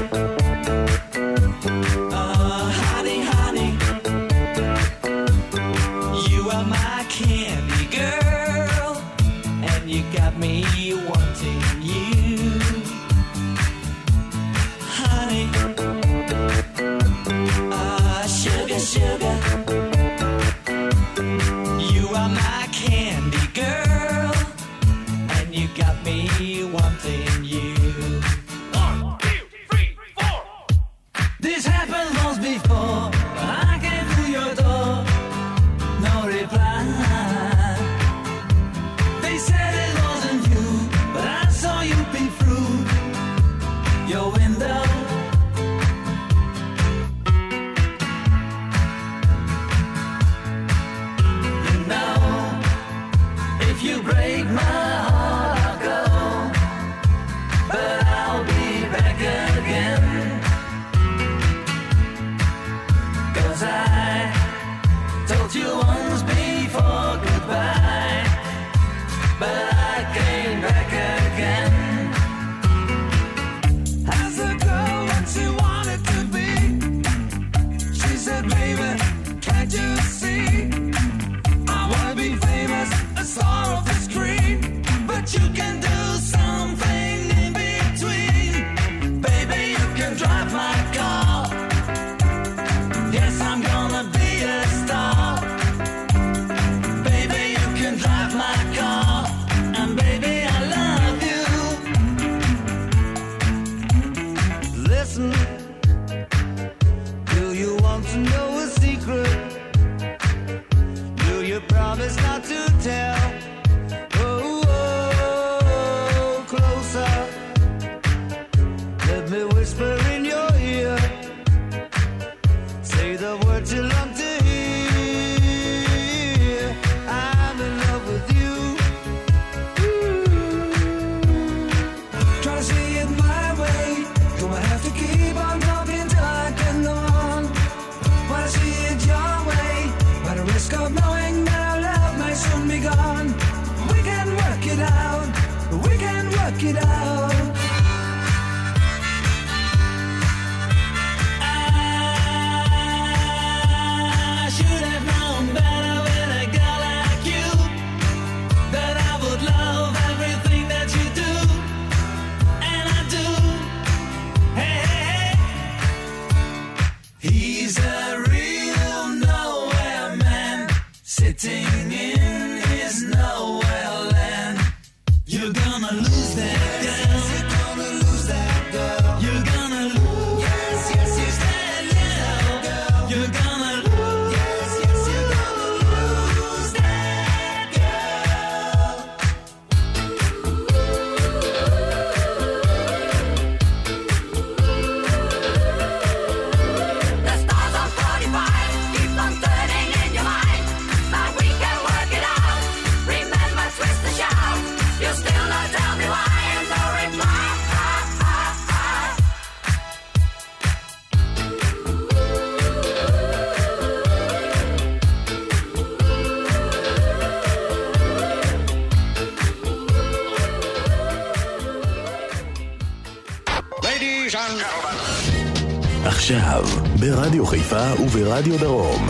עכשיו, ברדיו חיפה וברדיו דרום.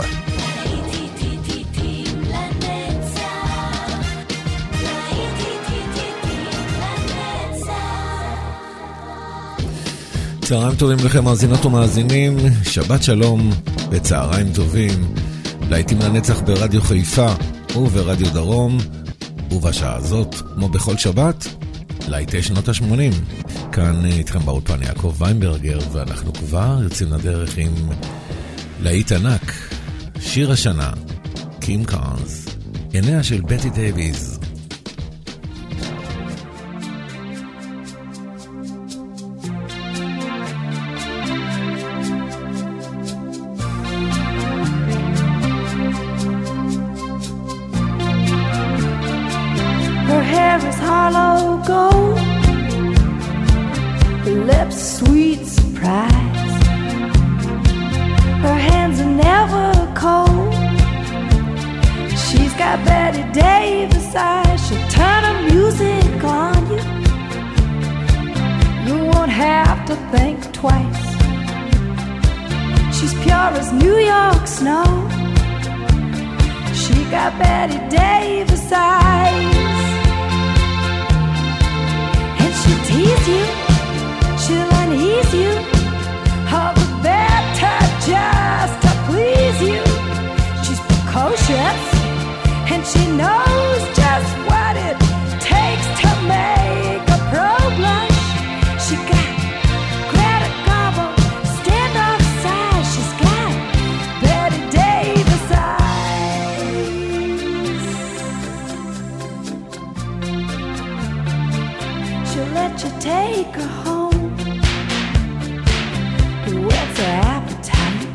צהריים טובים לכם מאזינות ומאזינים, שבת שלום וצהריים טובים. להיטים לנצח ברדיו חיפה וברדיו דרום, ובשעה הזאת, כמו בכל שבת, להיטי שנות ה-80. כאן איתכם באולפן יעקב ויינברגר, ואנחנו כבר יוצאים לדרך עם להיט ענק, שיר השנה, קים קארנס, עיניה של בטי דייביס. Her hair is hollow gold, her lips sweet surprise, her hands are never cold. She's got Betty Davis eyes, she'll turn her music on you. You won't have to think twice. She's pure as New York snow. She got Betty Davis eyes. And she'll tease you, she'll unease you, all the better just to please you. She's precocious, and she knows just what it takes to make a pro blush. She got Greta Garbo, standoff size. She's got Betty Davis eyes. She'll let you take her home, whet's her appetite.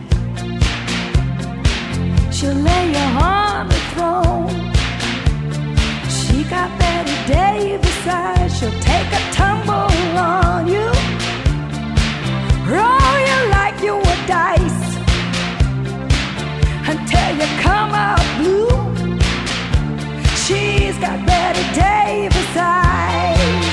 She'll lay you on the throne. She got Betty Davis eyes. She'll take a tumble on you, roll you like you were dice, until you come out blue. She's got Betty Davis eyes.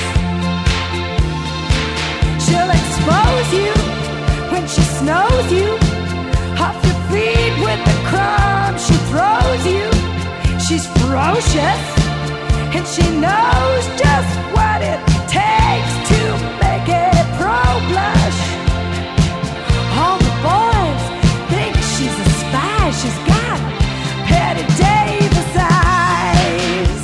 She'll expose you when she snows you off your feet with the crumbs she throws you. She's ferocious, and she knows just what it takes to make a pro blush. All the boys think she's a spy. She's got Betty Davis eyes.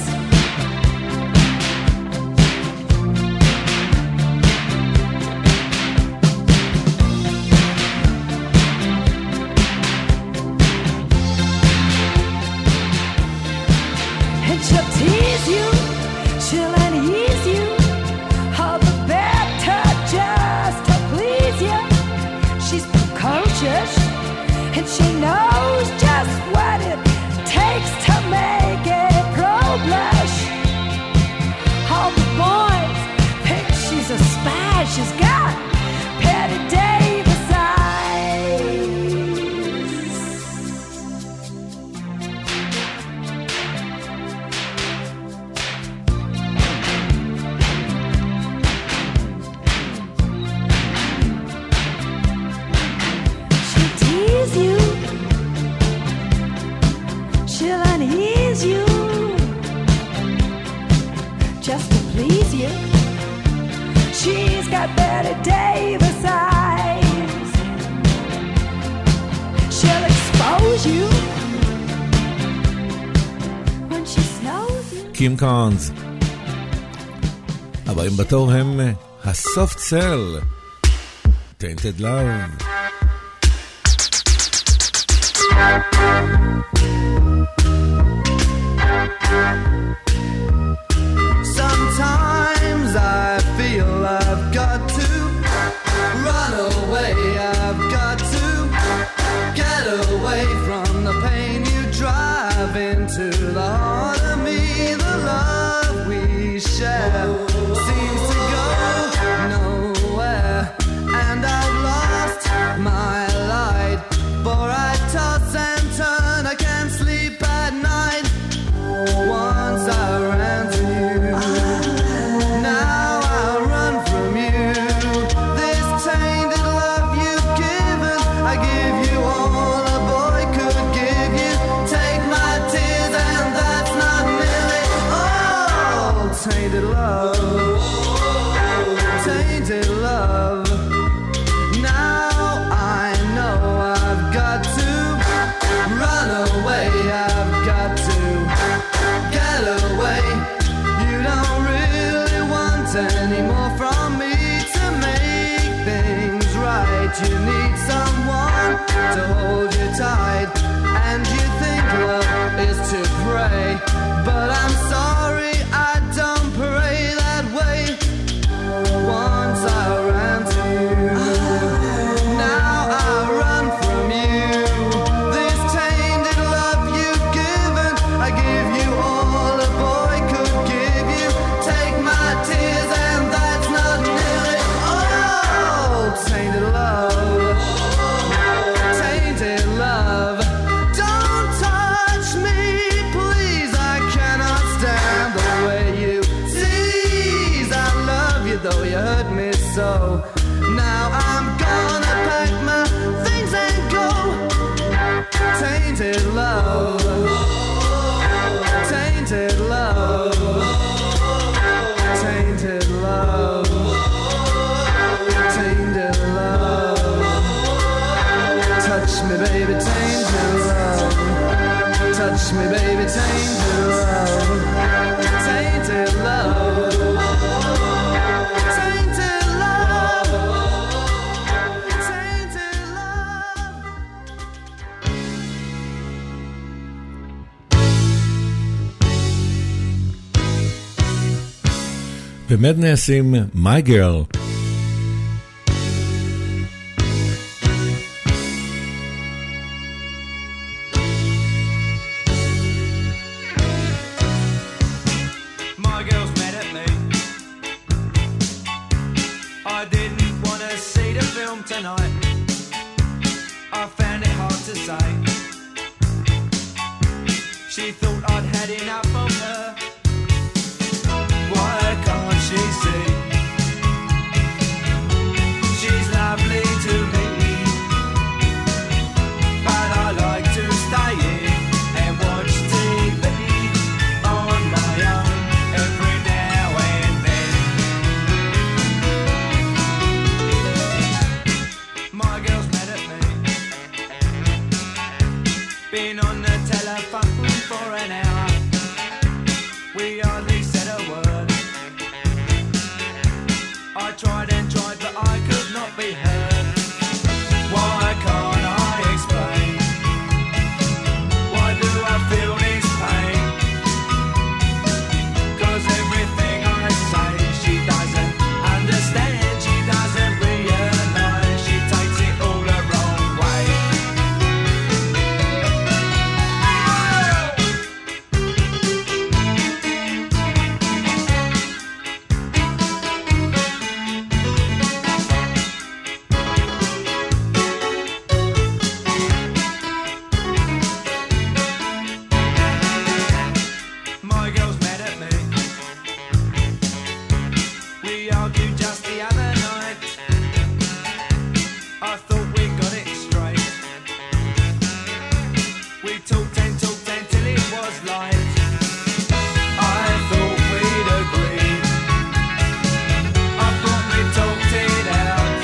And she'll tease you, she'll unease you, all the better just to please you. She's precocious, and she knows just what it takes to make a pro blush. All the boys think she's a spy. She's got Betty Davis eyes. She'll tease you, she'll unease you, just to please you. She's got Betty Davis eyes. She'll expose you when she snows you. קים קארנס. הבאים בתור הם הסופט סל, Tainted Love. Sometimes I feel I've got to run away. I've got to get away from the pain you drive into the heart of me. The love we share seems to go nowhere, and I've lost my light, for I toss and turn. I can't sleep at night. Once I ran to you, now I run from you. This tainted love you've given, I give you all a boy could give you. Take my tears and that's not nearly all. Tainted love, tainted love. Now I know I've got to run away. I've got to get away. You don't really want any more from me to make things right. You need someone to hold you tight, and you think love is to pray, but I'm sorry, I don't pray that way. Once I ran to you, now I run from you. This tainted love you've given, I give you all a boy could give you. Take my tears and that's not nearly all. Tainted love, tainted love. Don't touch me, please, I cannot stand Now I'm gonna pack my things and go. Tainted love, tainted love, tainted love, tainted love. Touch me, baby, tainted love. Touch me, baby, tainted love. Tainted love. Tainted love. Tainted love. במדנס עם My Girl. My girl's mad at me. I didn't want to see the film tonight. I found it hard to say. She thought I'd had enough of her. Why can't she see? She's lovely to me, but I like to stay in and watch TV on my own every now and then. My girl's mad at me. Been on the telephone for an hour. We hardly said a word. I tried and tried, but I could not be heard. Why can't I explain? Why do I feel this pain? 'Cause everything I say she doesn't understand. She doesn't realize. She takes it all the wrong way. My girl's mad at me. We argued just the other night. I thought we got it straight. We talked till it was light. I thought we'd agreed. I thought we talked it out.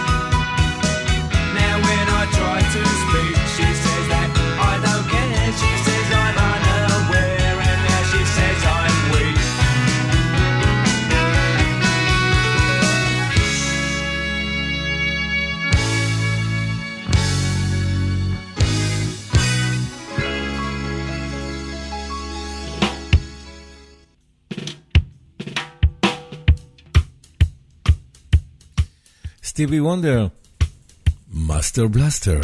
Now when I try to speak, she says that I don't care. She says I'm unaware, and now she says I'm weak. Stevie Wonder, Master Blaster.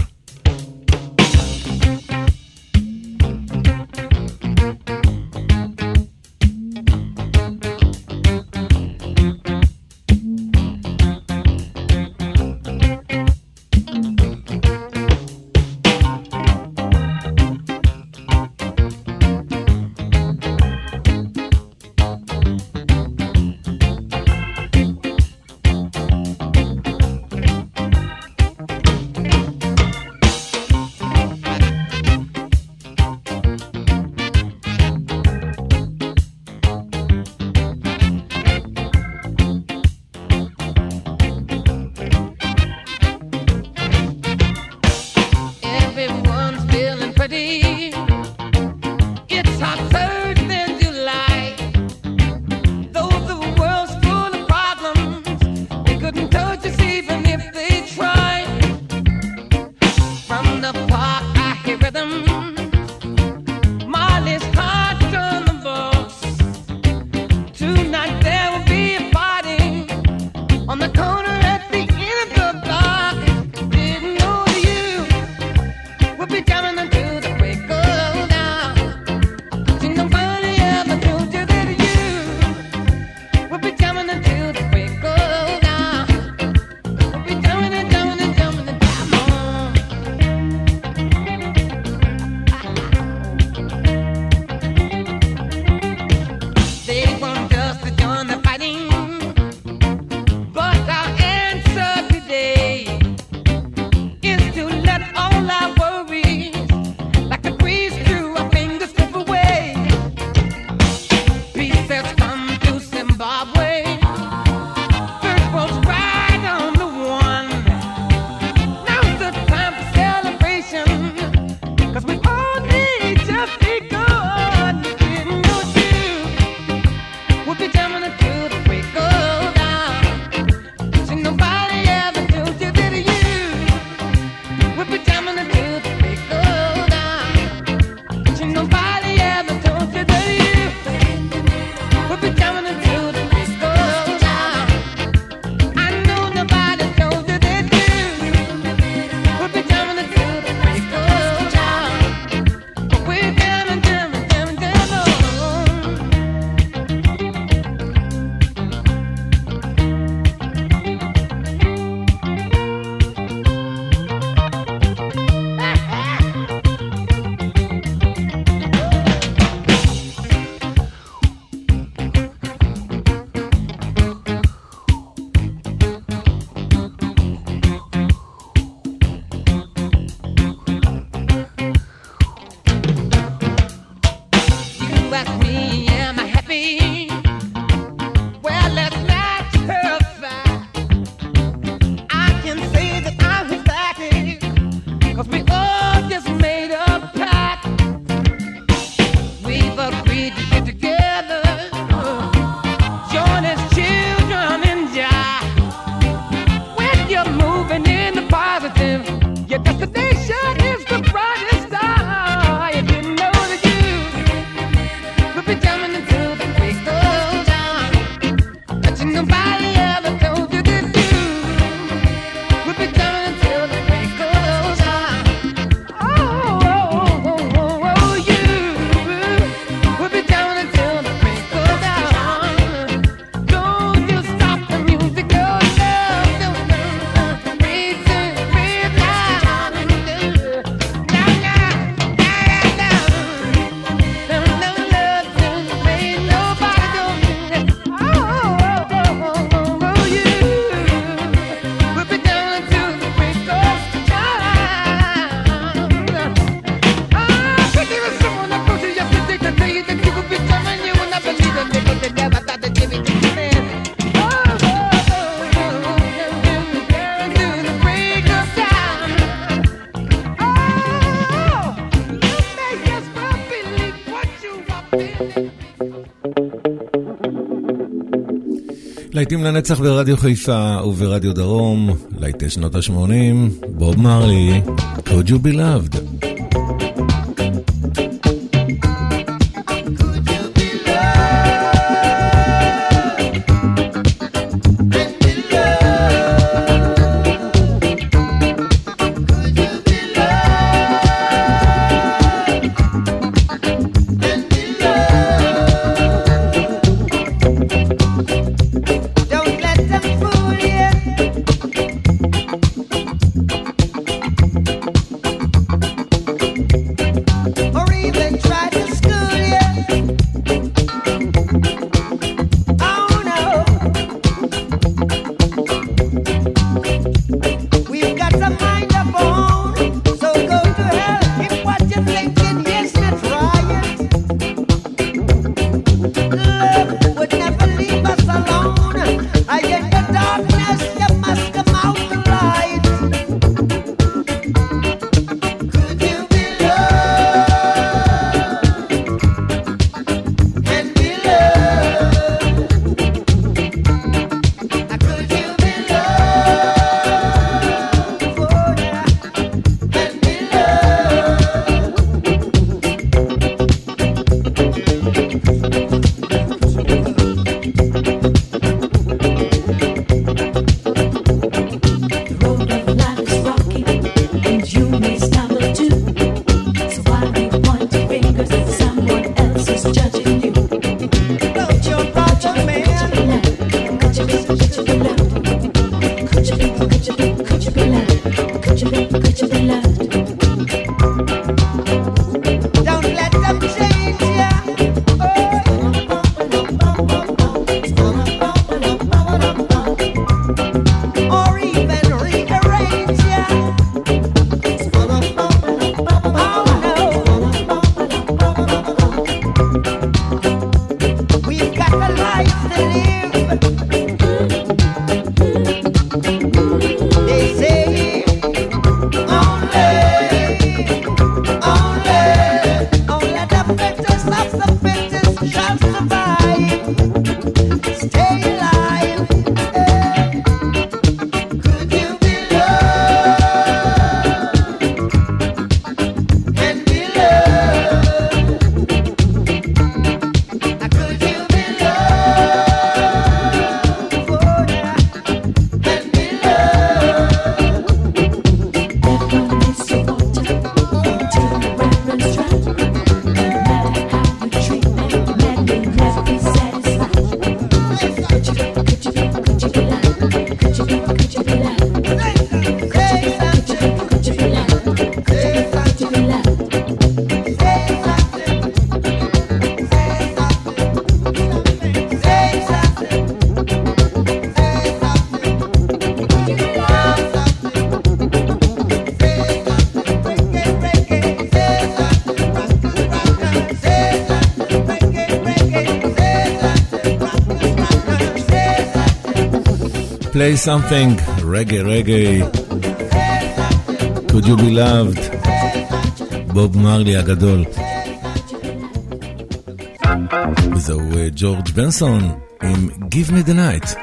להיטים לנצח ברדיו חיפה וברדיו דרום, להיטי שנות ה-80, בוב מרלי, Could You Be Loved? Play something, reggae, Could You Be Loved, בוב מרלי הגדול. וזהו ג'ורג' בנסון עם Give Me The Night.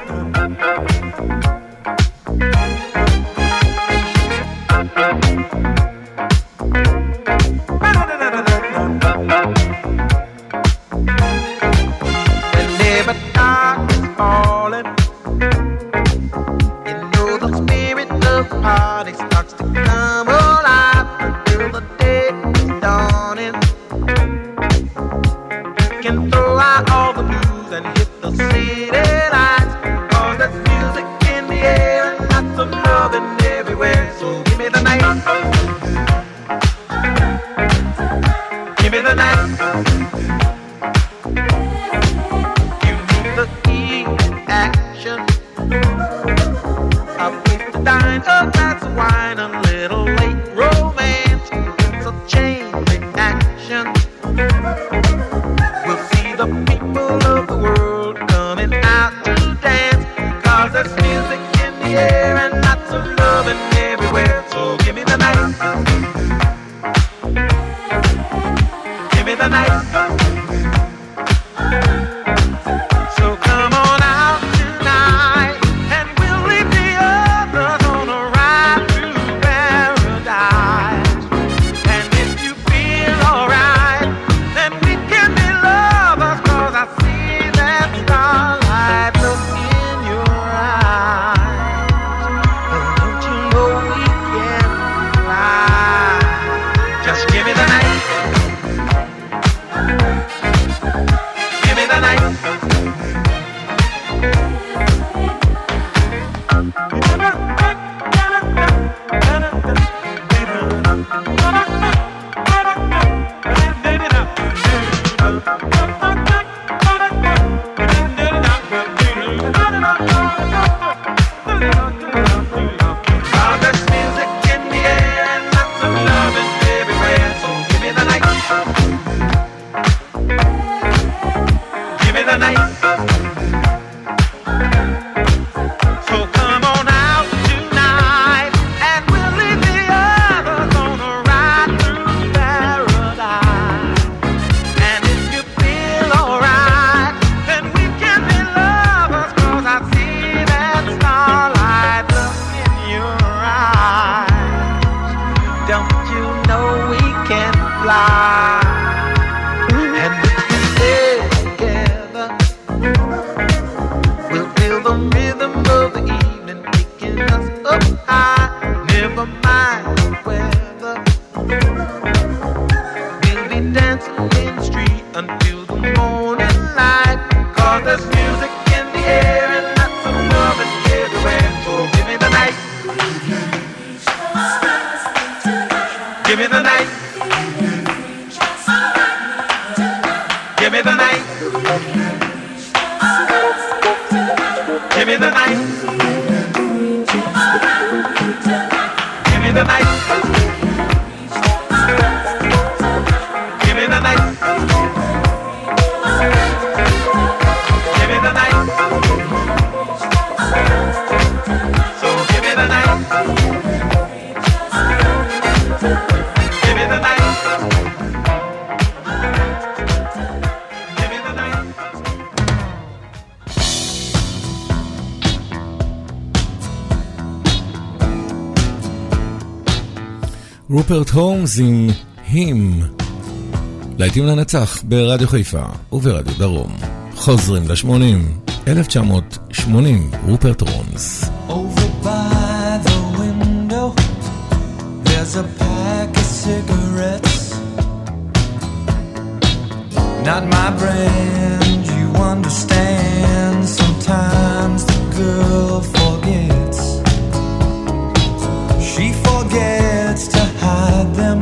Give me the night. me the night. Give me the night. Give me the night. Give me the night. Give me the night. Give me the night. So give me the night. Give me the night. Give me the night. רופרט הולמס עם Him. להיטים לנצח ברדיו חיפה וברדיו דרום. חוזרים ל-80, 1980, רופרט הולמס. Over by the window, there's a pack of cigarettes. Not my brand, you understand. Sometimes the girl forgets. She forgets to hide them.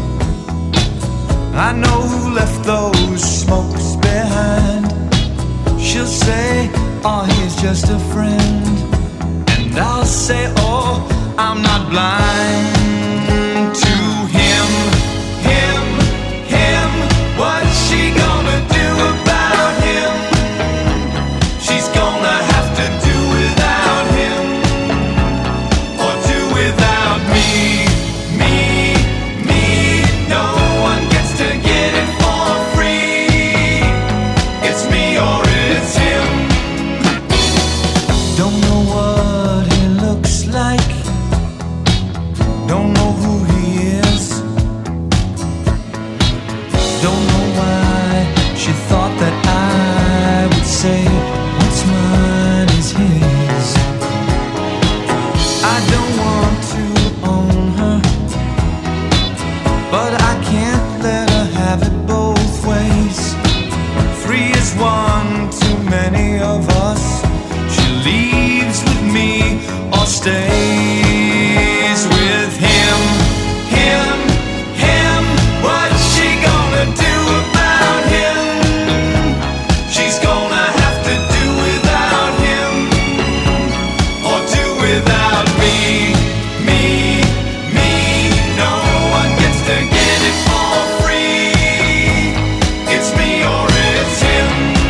I know who left those smokes behind. She'll say, oh, he's just a friend. And I'll say, oh, I'm not blind to him, him, him. What's she gonna do about him? She's gonna have to do without him, or do without me, me, me. No one gets to get it for free. It's me or it's him. Don't know what he looks like. Don't know who he is. Don't know why she thought that I would say what's mine is his. I don't want to own her, but I can't let her have it both ways. 3 is 1 too many of us. She leaves with me or stays with him, him, him. What's she gonna do about him? She's gonna have to do without him, or do without me, me, me. No one gets to get it for free. It's me or it's him.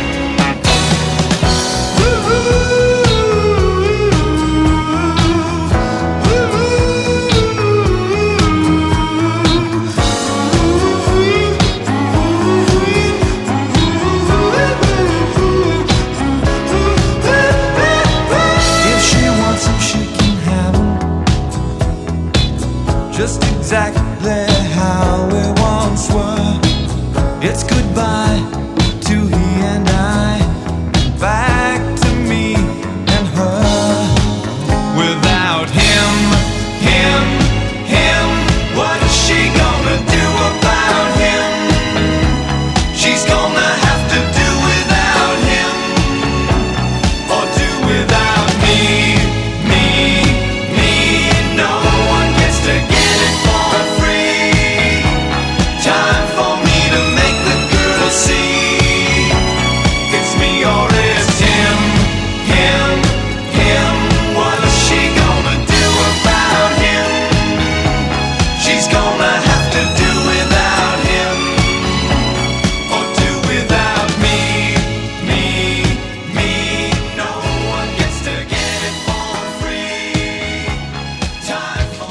If she wants him, she can have him, just exactly how we once were. It's goodbye to he and I, back to me and her. Without him, him, him. What's she gonna do about him? She's gonna have to do without him, or do without me, me, me. No one gets to get it for free. Time for me to make the girl see. It's me or it's him, him, him. What's she gonna do about him? She's gonna have to do without him, or do without me, me, me. No one gets to get it for free. Time for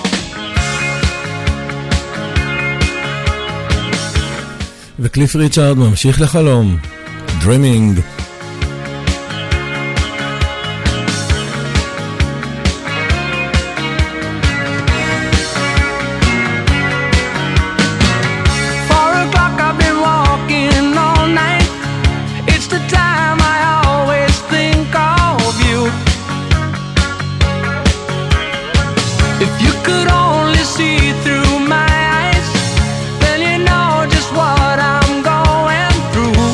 וקליף ריצ'ארד ממשיך לחלום. Dreaming. I've been walking all night. It's the time I always think of you. If you could only see through my eyes, then you know just what I'm going through.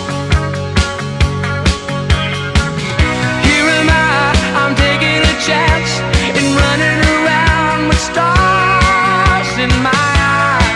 Here am I'm taking a chance in running around with stars in my eyes.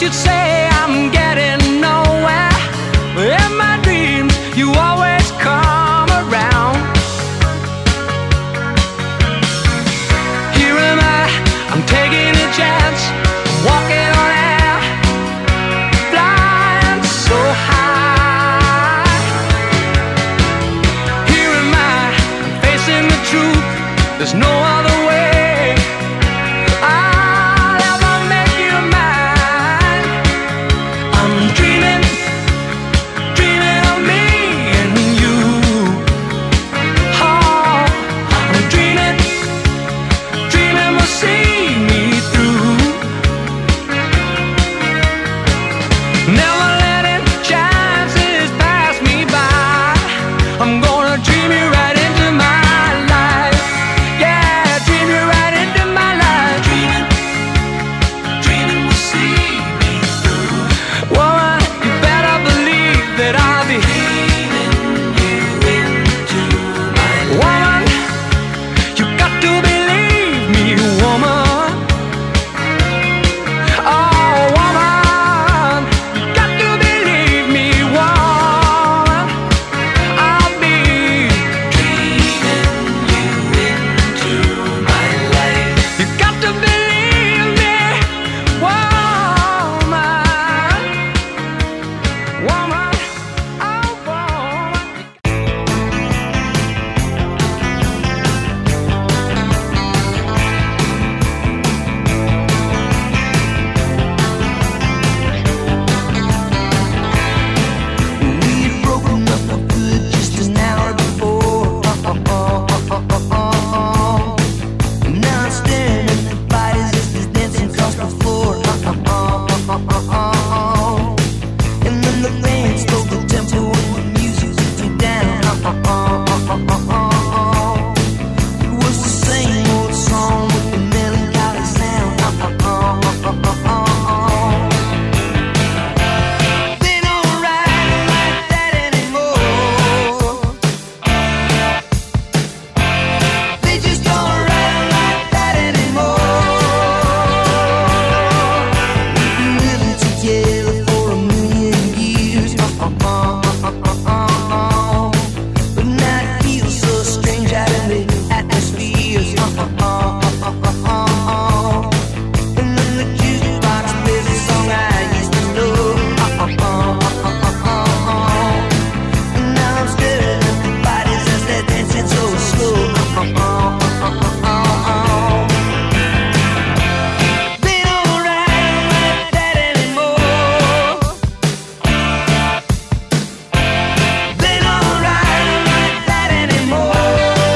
should say I'm getting nowhere. In my dreams, you always come around. Here am I'm taking a chance, walking on air, flying so high. Here am I, facing the truth, there's no other way. I'll ever make you mine. I'm dreaming, dreaming of me and you. Oh, I'm dreaming, dreaming we'll see me through. Never letting chances pass me by. I'm gonna dream you right into my life. Yeah, dream you right into my life. Dreaming, dreaming we'll see me through. Woman, you better believe that I'll be dreaming you into my life. Woman, you got to believe me, woman. Oh, woman, you got to believe me, woman. I'll be dreaming you into my life. You got to believe me, woman. Woman, oh, woman. We'd broken up for good just an hour before. Now I'm staring at the bodies as they're dancing across the floor. And then the band slowed the tempo and the music took me down. It was the same old song with the melancholy sound. They don't ride like that anymore. They just don't ride like that anymore. We've been living together for a million years. But now it feels so strange out in the atmospheres. And then the jukebox plays a song I used to know. And now I'm staring at the bodies as they're dancing so slow. They don't ride like that anymore. They don't ride like that anymore.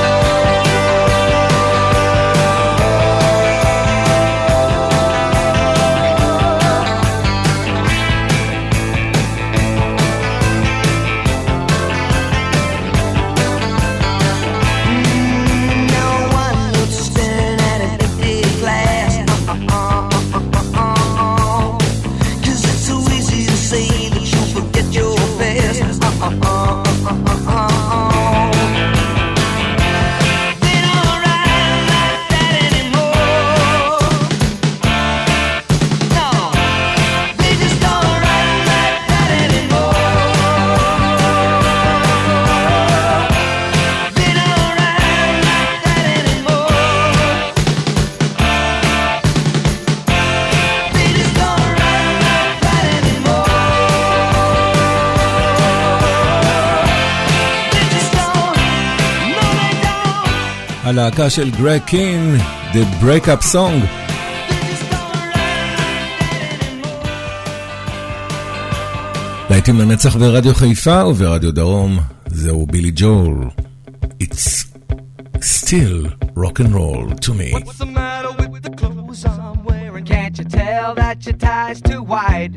Now one looks staring at an empty glass. 'Cause it's so easy to say that you'll forget your past. They don't ride like that anymore. No, they just don't ride like that anymore. They don't ride like that anymore. They just don't ride like that anymore. They just don't, no they don't. הלהקה של גרג קין, The Breakup Song. They just don't ride like that anymore. להיטים לנצח ברדיו חיפה וברדיו דרום, זהו בילי ג'ול. It's still rock and roll to me. What's the matter with the clothes I'm wearing? Can't you tell that your tie's too wide?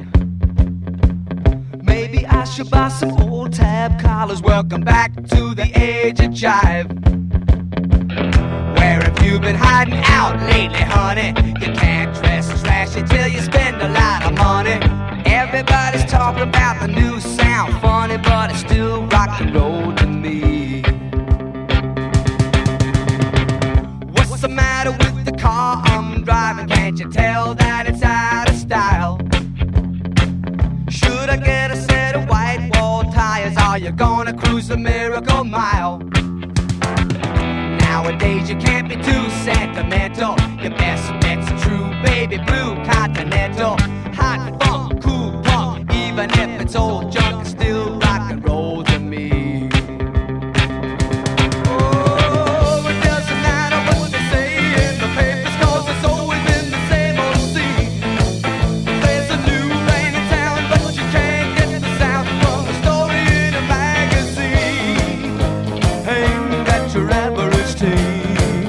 Maybe I should buy some old tab collars. Welcome back to the age of jive. Where have you been hiding out lately, honey? You can't dress flashy till you spend a lot of money. Everybody's talking about the new sound, funny, but it's still rock and roll to me. What's the matter with the car I'm driving? Can't you tell that it's out of style? a miracle mile. Nowadays you can't be too sentimental. Your best bet's true, baby blue continental. Hot funk, cool punk, even if it's old junk, it's still rock and roll to me. Oh, it doesn't matter what they say in the papers, 'cause it's always been the same old scene. There's a new band in town, but you can't get the sound from a story in a magazine. Ain't that your average teen?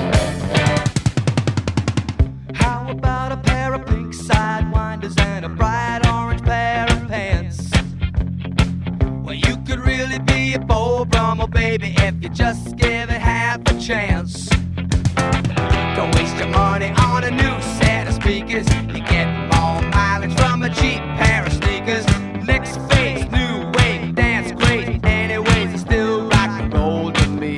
How about a pair of pink sidewinders and a bright orange pair of pants? Well, you could really be a Beau Brummel, baby, if you just give it half a chance. Don't waste your money on a new set of speakers. You get more mileage from a cheap pair of sneakers. Next phase, new wave, dance great. Anyways, it's still rock and roll to me.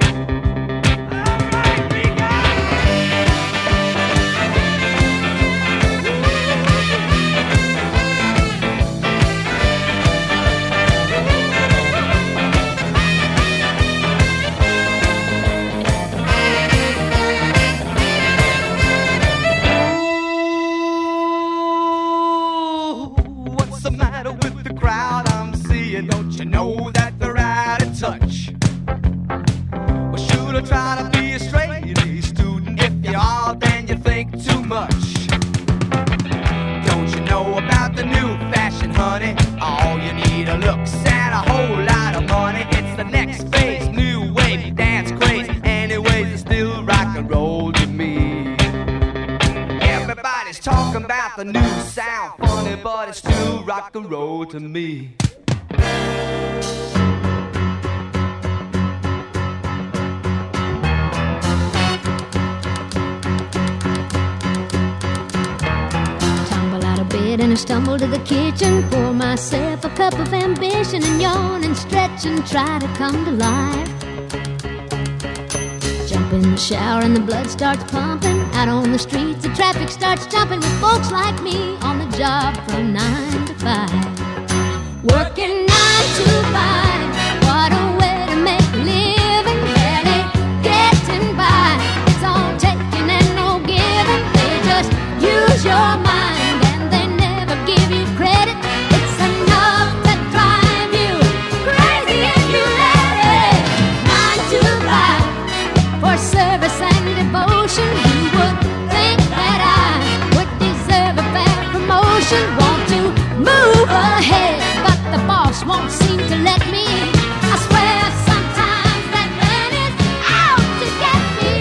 What's the matter with the crowd I'm seeing? Don't you know that they're out of touch? Well, should I try to be a straight A student? If you are, then you think too much. Don't you know about the new fashion, honey? All you need are looks and a whole lot of money. It's the next phase, new wave, dance craze. Anyways, it's still rock and roll to me. Everybody's talking about the new sound, funny, but it's still rock and roll to me. Tumble out of bed and I stumble to the kitchen. Pour myself a cup of ambition and yawn and stretch and try to come to life. Jump in the shower and the blood starts pumping. Out on the streets the traffic starts jumping with folks like me on the job from 9 to 5. Working 9 to 5. What a way to make a living. Barely getting by. It's all taking and no giving. They just use your mind and they never give you credit. It's enough to drive you crazy if you let it. 9 to 5 for service and devotion. You would think that I would deserve a fair promotion. Want to move ahead, but the boss won't seem to let me. I swear sometimes that man is out to get me.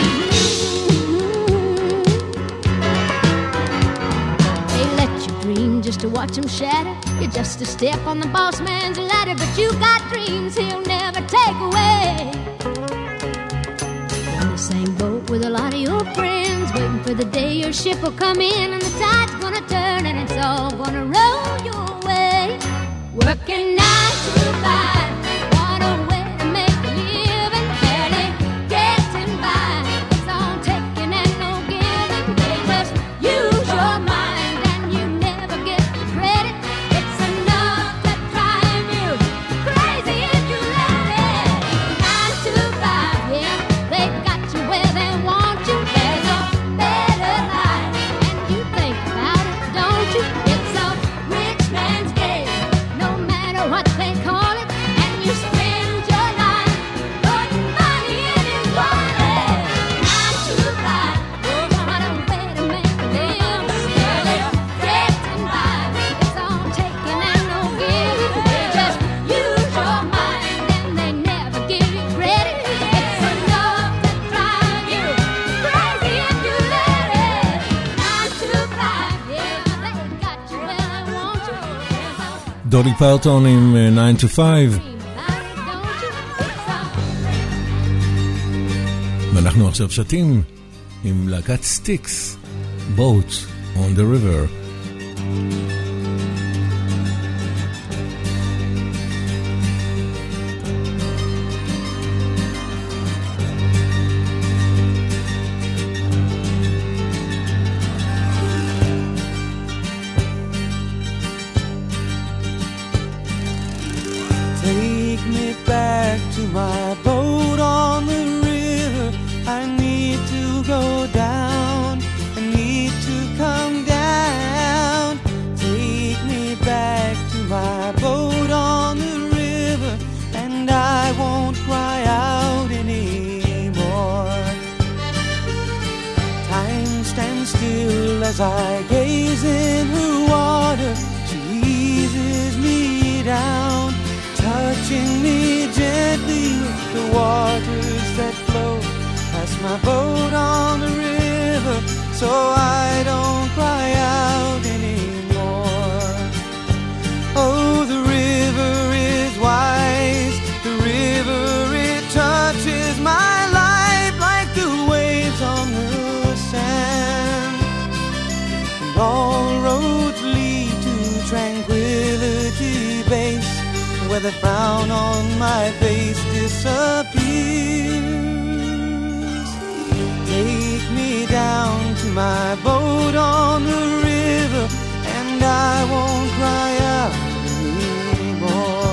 They let you dream just to watch him shatter. You're just a step on the boss man's ladder, but you got dreams he'll never take away. In the same boat with a lot of your friends, waiting for the day your ship will come in and the tide's gonna turn and it's all gonna roll your way. Working 9 to 5, what a way to make a living. Barely getting by, it's all taking and no giving. They just use your mind and you never get the credit. It's enough to drive you crazy if you let it. 9 to 5, yeah, they've got you where they want you. There's a better life, and you think about it, don't you? It's a rich man's game, no matter what they call it. And you spend your life putting money in his wallet. 9 to 5, what a way to make a living. Barely getting by, it's all taking and no giving. They just use your mind and they never give you credit. It's enough to drive you crazy if you let it. 9 to 5, yeah, they got you where they want you. דולי פרטון עם 9 to 5, Dream about it, don't you? It's a ואנחנו עכשיו שתים עם להקת סטיקס, Boat on the River. Take me still as I gaze in her water. She eases me down, touching me gently with the waters that flow past my boat on the river, so I don't cry out anymore. Oh, the river is wise, the river, it touches my life like the waves on the sand. And all roads lead to Tranquility Base, where the frown on my face disappears. Take me down to my boat on the river, and I won't cry out anymore.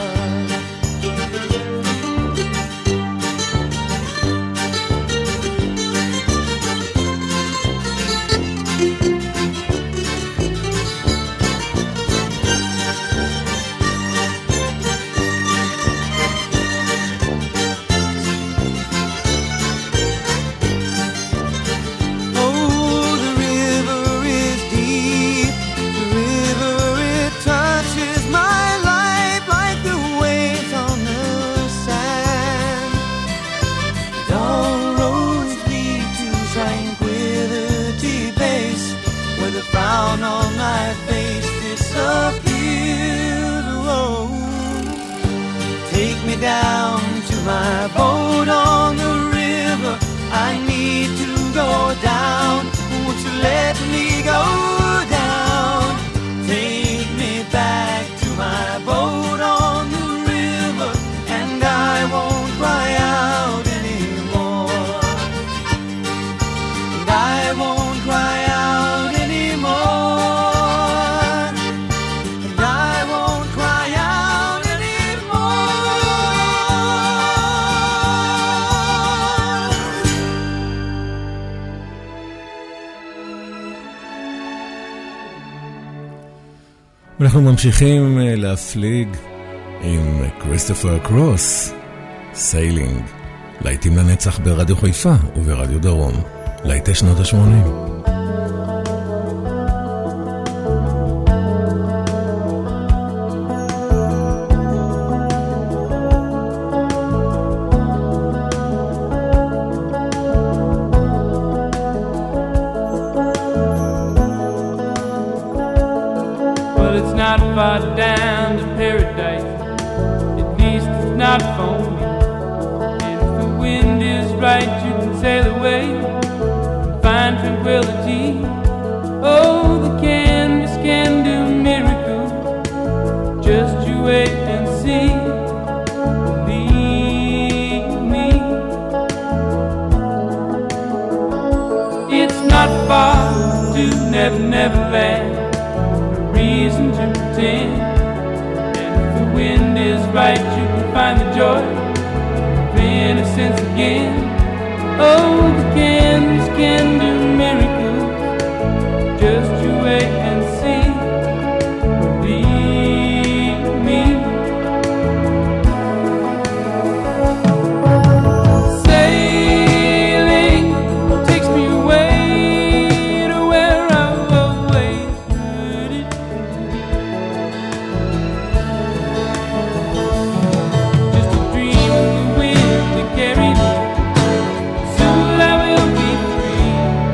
On my face disappears. Oh, take me down to my boat on the river. I need to go down. Won't you let me go down? Take me back to my boat on the river, and I won't cry out anymore. And I won't cry out anymore. אנחנו ממשיכים להפליג עם כריסטופר קרוס, סיילינג, להיטים לנצח ברדיו חיפה וברדיו דרום, להיטי שנות ה-80. Far down to paradise, at least it's not for me. And if the wind is right, you can sail away and find tranquility. Oh, the canvas can do miracles, just you wait and see. Believe me, it's not far to Never Never Land. Reason to pretend, and if the wind is right, you can find the joy of innocence again. Oh, the canvas can do miracles, just you wait and see. Believe me. Sailing takes me away to where I've always heard it. Just a dream of the wind that carried me. Soon I will be free.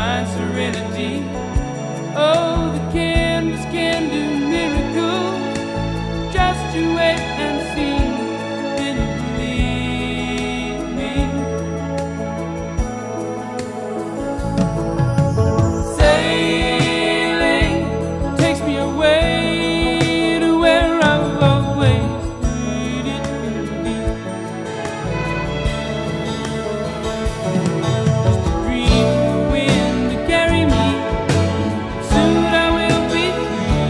find serenity. Oh, the canvas can do miracles. Just you wait and see, then you believe me. Sailing takes me away to where I've always needed to be. Just a dream in the wind to carry me. Soon I will be free.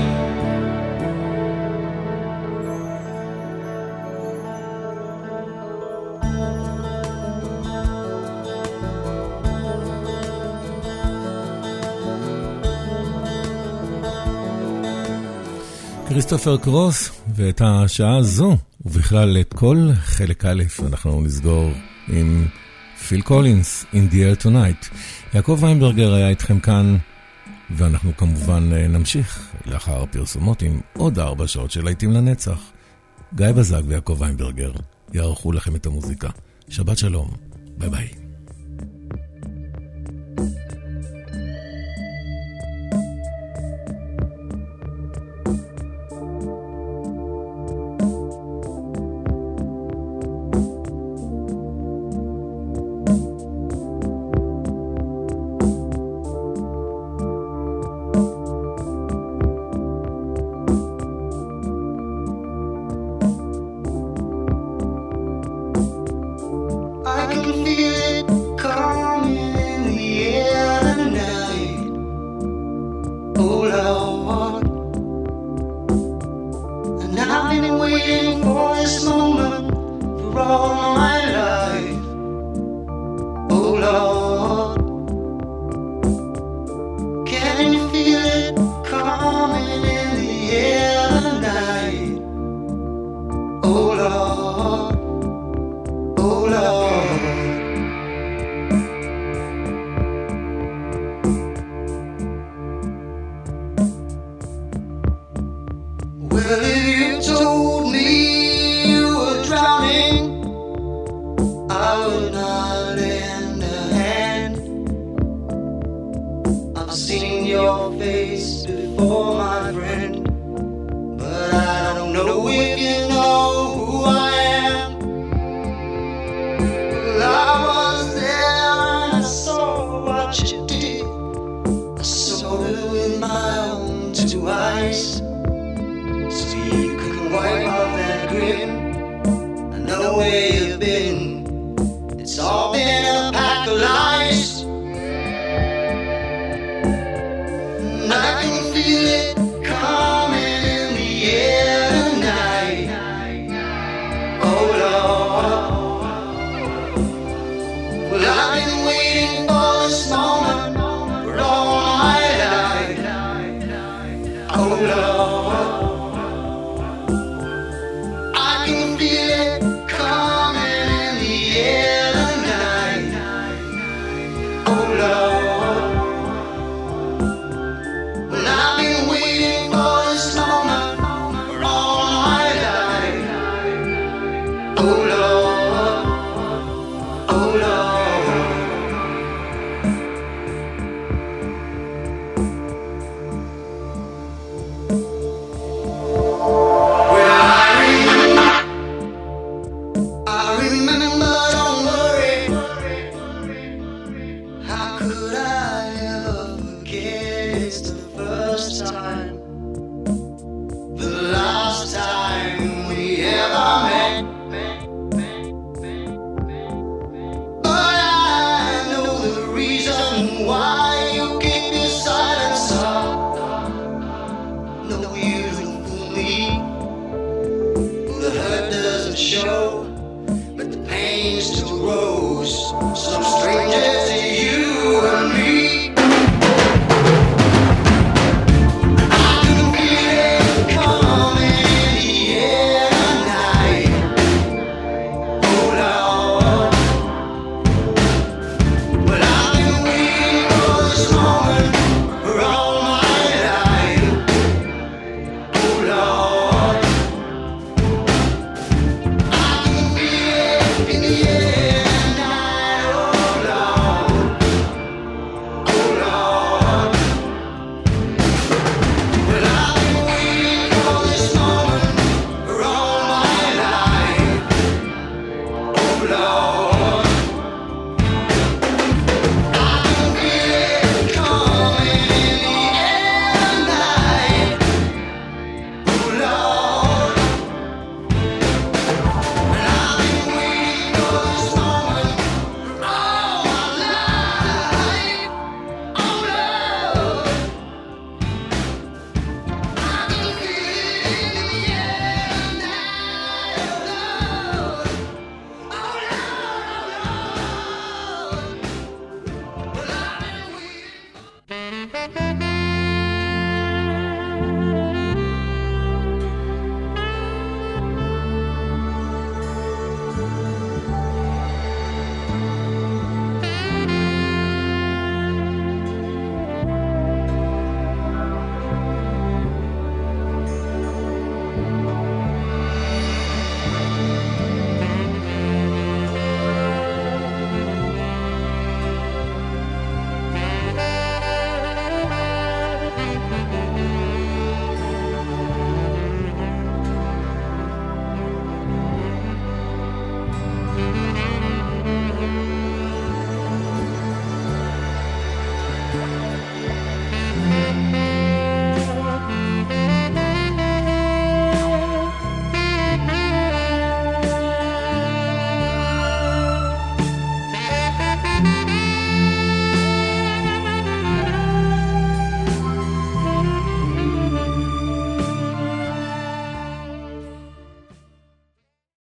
כריסטופר קרוס, ואת השעה הזו, ובכלל את כל חלק א', אנחנו נסגור עם פיל קולינס, In the Air Tonight. יעקב ויינברגר היה איתכם כאן, ואנחנו כמובן נמשיך לאחר הפרסומות עם עוד 4 שעות של להיטים לנצח. גיא בזק ויעקב ויינברגר יערכו לכם את המוזיקה. שבת שלום, ביי ביי. I can feel it coming in the air tonight. Oh Lord, and I've been waiting for this moment for all my life. Oh Lord, can you feel it coming in the air tonight? Oh Lord. Oh Lord, well, if you told me you were drowning, I would not lend a hand. I've seen your face before, my friend, but I don't know if you know who I am. I was there and I saw what you did. I saw it with my own 2 eyes. So you couldn't wipe off that grin. I know where you've been. It's all been a pack of lies. And I can feel it coming in the air tonight. Oh Lord. Well, I've been waiting for this moment for all my life. Oh Lord, I can feel it coming in the air tonight. Oh Lord, well, I've been waiting for this moment for all my life. Oh Lord, oh Lord. I remember, don't worry. How could I ever forget? It's the first time, the last time we ever met. But I know the reason why you keep your silence up. No, you don't fool me. The hurt doesn't show, but the pain still grows. Some strangers